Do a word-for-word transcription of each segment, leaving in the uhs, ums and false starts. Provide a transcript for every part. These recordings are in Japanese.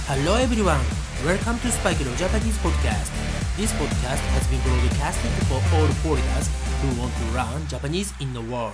Hello everyone, welcome to Spike Leo Japanese Podcast. This podcast has been broadcasted for all foreigners who want to learn Japanese in the world.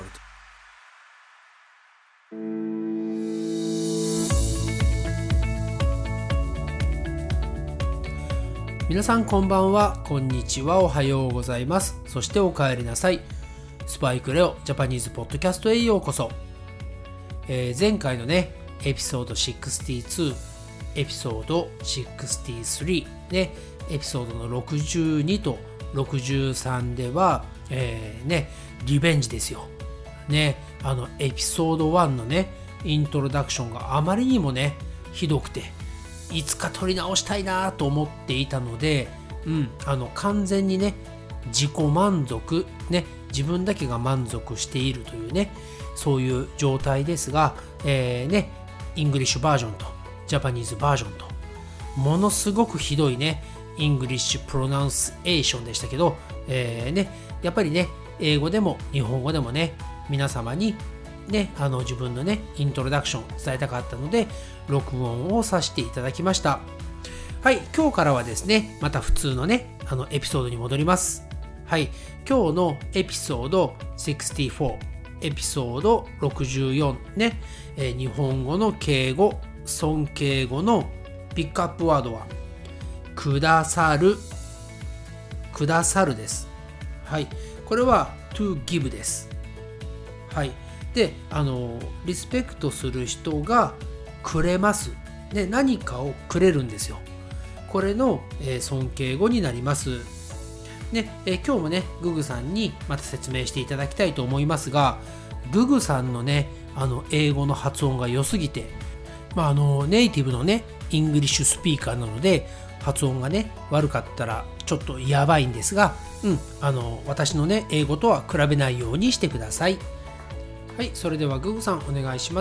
皆さんこんばんは、こんにちは、おはようございます。そしてお帰りなさい。スパイクレオジャパニーズポッドキャストへようこそ。えー、前回のね、エピソードろくじゅうに、エピソードろくじゅうさんね、エピソードのろくじゅうにとろくじゅうさんでは、えー、ね、リベンジですよ。ね、あのエピソードいちのね、イントロダクションがあまりにもね、ひどくて、いつか撮り直したいなと思っていたので、うん、あの完全にね、自己満足、ね、自分だけが満足しているというね、そういう状態ですが、えー、ね、イングリッシュバージョンとジャパニーズバージョンと、ものすごくひどいね、イングリッシュプロナンスエーションでしたけど、えー、ね、やっぱりね、英語でも日本語でもね、皆様にね、あの自分のね、イントロダクション伝えたかったので、録音をさせていただきました。はい、今日からはですね、また普通のね、あのエピソードに戻ります。はい、今日のエピソードろくじゅうよん、エピソードろくじゅうよんね、えー、日本語の敬語、尊敬語のピックアップワードは、くださる、くださるです。はい、これは to give です。はい。で、あの、リスペクトする人がくれます。で、何かをくれるんですよ。これの、えー、尊敬語になります。ね、えー、今日もね、ググさんにまた説明していただきたいと思いますが、ググさんのね、あの、英語の発音が良すぎて、まあ、あの、ネイティブのね、イングリッシュスピーカーなので、発音がね、悪かったらちょっとやばいんですが、うん、あの、私のね、英語とは比べないようにしてください。はい、それではググさんお願いします。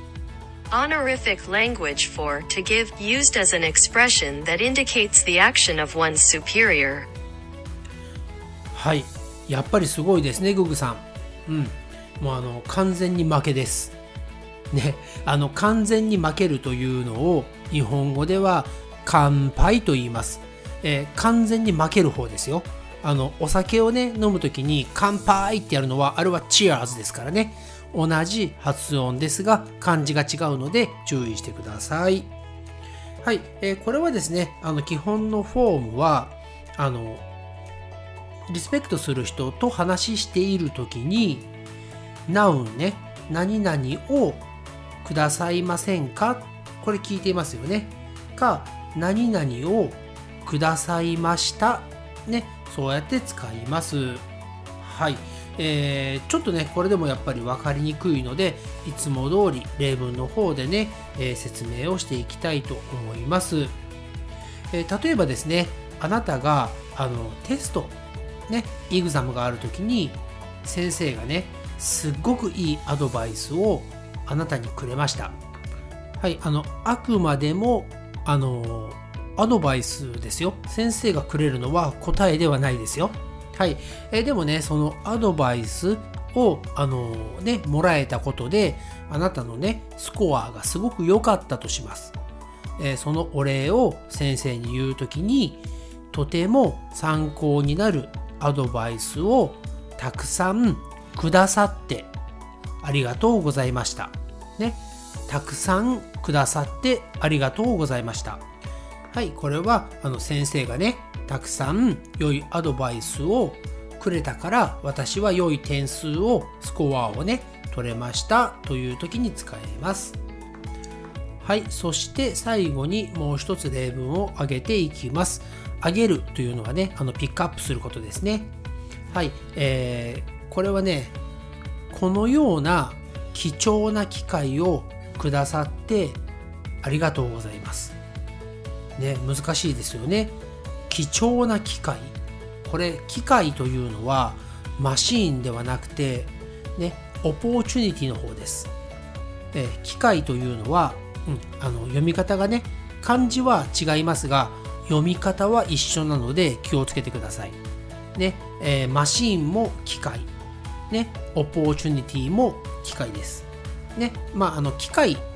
Honorific language for to give used as an expression that indicates the action of one's superior. はい、やっぱりすごいですね、ググさん。うん、もうあの完全に負けです。ね、あの完全に負けるというのを日本語では乾杯と言います。えー、完全に負ける方ですよ。あのお酒をね飲むときに乾杯ってやるのはあれはチアーズですからね。同じ発音ですが漢字が違うので注意してください。はい、えー、これはですね、あの基本のフォームはあのリスペクトする人と話しているときにナウンね、何々をくださいませんか、これ聞いていますよね。か、何々をくださいましたね、そうやって使います。はい、えー、ちょっとねこれでもやっぱり分かりにくいので、いつも通り例文の方でね、えー、説明をしていきたいと思います。えー、例えばですね、あなたがあのテストね、エグザムがあるときに先生がね、すっごくいいアドバイスをあなたにくれました。はい、あのあくまでもあのアドバイスですよ。先生がくれるのは答えではないですよ。はい、えー、でもね、そのアドバイスをあのねもらえたことで、あなたのねスコアがすごく良かったとします。えー、そのお礼を先生に言うときに、とても参考になるアドバイスをたくさんくださってありがとうございました。ね、たくさんくださってありがとうございました。はい、これはあの先生がね、たくさん良いアドバイスをくれたから、私は良い点数を、スコアをね、取れましたという時に使えます。はい、そして最後にもう一つ例文を挙げていきます。挙げるというのはね、あのピックアップすることですね。はい、えー、これはね、このような貴重な機会をくださってありがとうございます。ね、難しいですよね。貴重な機会。これ、機会というのはマシーンではなくて、ね、オポーチュニティの方です。えー、機会というのは、うん、あの読み方がね、漢字は違いますが、読み方は一緒なので気をつけてください。ね、えー、マシーンも機械、ね、オポーチュニティも機械です。ね、まあ、あの機械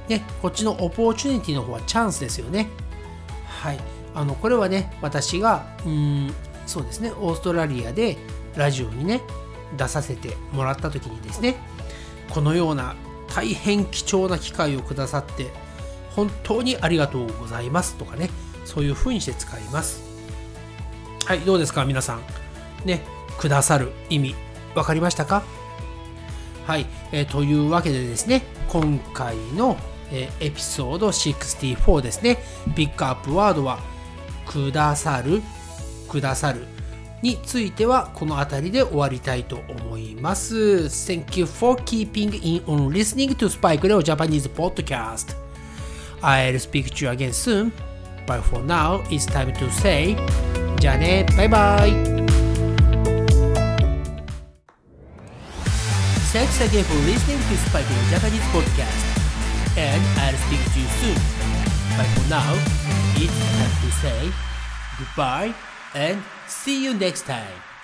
ね、こっちのオポーチュニティの方はチャンスですよね。はい。あの、これはね、私が、うーん、そうですね、オーストラリアでラジオにね、出させてもらった時にですね、このような大変貴重な機会をくださって、本当にありがとうございますとかね、そういう風にして使います。はい、どうですか皆さん。ね、くださる意味、わかりましたか？はい、えー、というわけでですね、今回の、えー、エピソードろくじゅうよんですね、ピックアップワードは、くださる、くださるについてはこの辺りで終わりたいと思います。Thank you for keeping in on listening to Spike Leo Japanese podcast. I'll speak to you again soon, but for now it's time to say じゃあね、バイバイ。Thanks again for listening to Spike Leo Japanese podcast, and I'll speak to you soon, but for now it's time to say goodbye and see you next time.